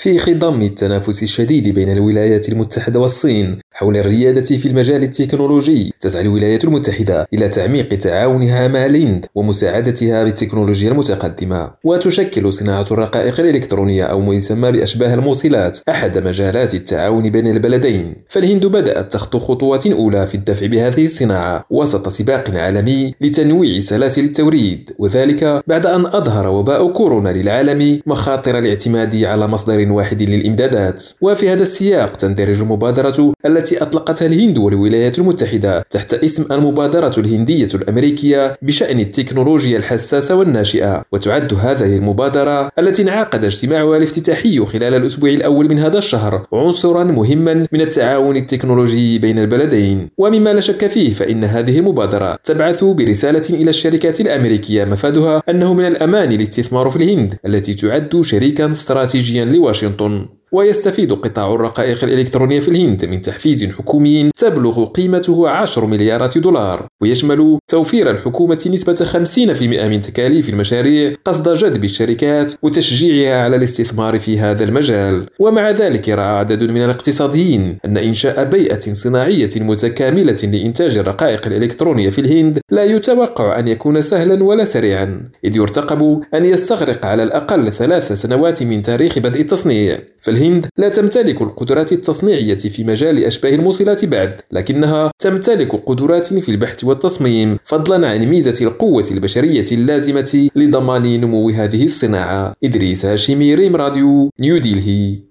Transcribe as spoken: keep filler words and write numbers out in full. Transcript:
في خضم التنافس الشديد بين الولايات المتحدة والصين حول الريادة في المجال التكنولوجي، تسعى الولايات المتحدة إلى تعميق تعاونها مع الهند ومساعدتها بالتكنولوجيا المتقدمة. وتشكل صناعة الرقائق الإلكترونية أو ما يسمى بأشباه الموصلات أحد مجالات التعاون بين البلدين، فالهند بدأت تخطو خطوات أولى في الدفع بهذه الصناعة وسط سباق عالمي لتنويع سلاسل التوريد، وذلك بعد أن أظهر وباء كورونا للعالم مخاطر الاعتماد على مصدر واحد للإمدادات. وفي هذا السياق تندرج المبادرة التي أطلقتها الهند والولايات المتحدة تحت اسم المبادرة الهندية الأمريكية بشأن التكنولوجيا الحساسة والناشئة. وتعد هذه المبادرة التي انعقد اجتماعها الافتتاحي خلال الأسبوع الأول من هذا الشهر عنصرا مهما من التعاون التكنولوجي بين البلدين. ومما لا شك فيه فإن هذه المبادرة تبعث برسالة إلى الشركات الأمريكية مفادها أنه من الأمان الاستثمار في الهند التي تعد شريكا استراتيجيا لواشنطن. ويستفيد قطاع الرقائق الإلكترونية في الهند من تحفيز حكومي تبلغ قيمته عشر مليارات دولار، ويشمل توفير الحكومة نسبة خمسين بالمئة من تكاليف المشاريع قصد جذب الشركات وتشجيعها على الاستثمار في هذا المجال. ومع ذلك رأى عدد من الاقتصاديين أن إنشاء بيئة صناعية متكاملة لإنتاج الرقائق الإلكترونية في الهند لا يتوقع أن يكون سهلا ولا سريعا، إذ يرتقب أن يستغرق على الأقل ثلاث سنوات من تاريخ بدء التصنيع. فالهند لا تمتلك القدرات التصنيعية في مجال أشباه الموصلات بعد، لكنها تمتلك قدرات في البحث والتصميم، فضلا عن ميزة القوة البشرية اللازمة لضمان نمو هذه الصناعة. إدريس هاشمي، ريم راديو، نيو ديلهي.